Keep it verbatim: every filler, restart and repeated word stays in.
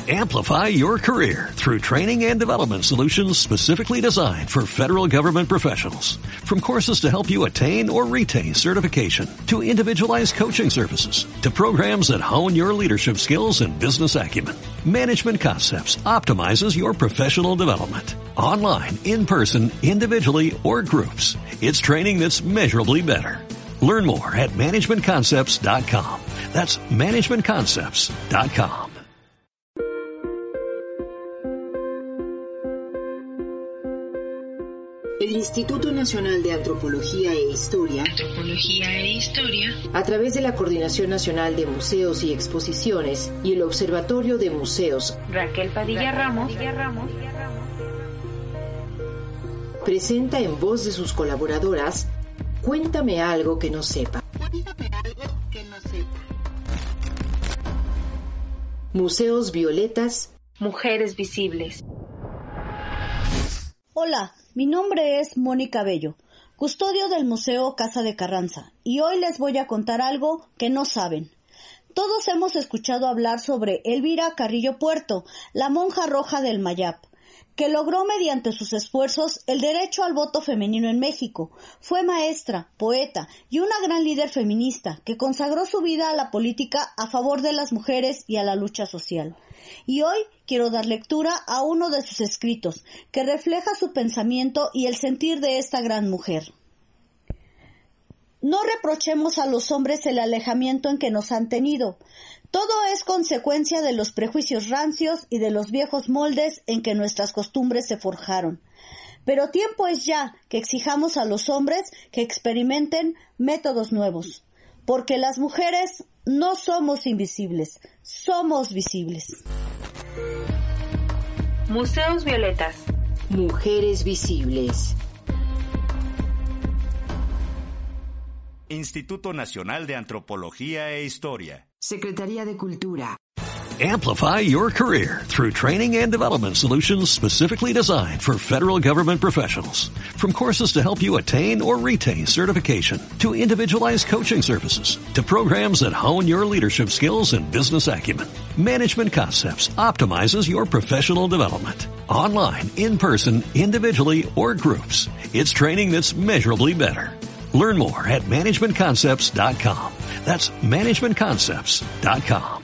Amplify your career through training and development solutions specifically designed for federal government professionals. From courses to help you attain or retain certification, to individualized coaching services, to programs that hone your leadership skills and business acumen, Management Concepts optimizes your professional development. Online, in person, individually, or groups, it's training that's measurably better. Learn more at management concepts dot com. That's management concepts dot com. El Instituto Nacional de Antropología e Historia, Antropología e Historia, a través de la Coordinación Nacional de Museos y Exposiciones y el Observatorio de Museos Raquel Padilla Ramos, presenta en voz de sus colaboradoras Cuéntame algo que no sepa. Cuéntame algo que no sepa. Museos Violetas, Mujeres Visibles. Hola, mi nombre es Mónica Bello, custodio del Museo Casa de Carranza, y hoy les voy a contar algo que no saben. Todos hemos escuchado hablar sobre Elvira Carrillo Puerto, la monja roja del Mayap, que logró mediante sus esfuerzos el derecho al voto femenino en México. Fue maestra, poeta y una gran líder feminista que consagró su vida a la política a favor de las mujeres y a la lucha social. Y hoy quiero dar lectura a uno de sus escritos, que refleja su pensamiento y el sentir de esta gran mujer. No reprochemos a los hombres el alejamiento en que nos han tenido. Todo es consecuencia de los prejuicios rancios y de los viejos moldes en que nuestras costumbres se forjaron. Pero tiempo es ya que exijamos a los hombres que experimenten métodos nuevos, porque las mujeres no somos invisibles, somos visibles. Museos Violetas. Mujeres Visibles. Instituto Nacional de Antropología e Historia. Secretaría de Cultura. Amplify your career through training and development solutions specifically designed for federal government professionals. From courses to help you attain or retain certification, to individualized coaching services, to programs that hone your leadership skills and business acumen, Management Concepts optimizes your professional development. Online, in person, individually, or groups, it's training that's measurably better. Learn more at management concepts dot com. That's management concepts dot com.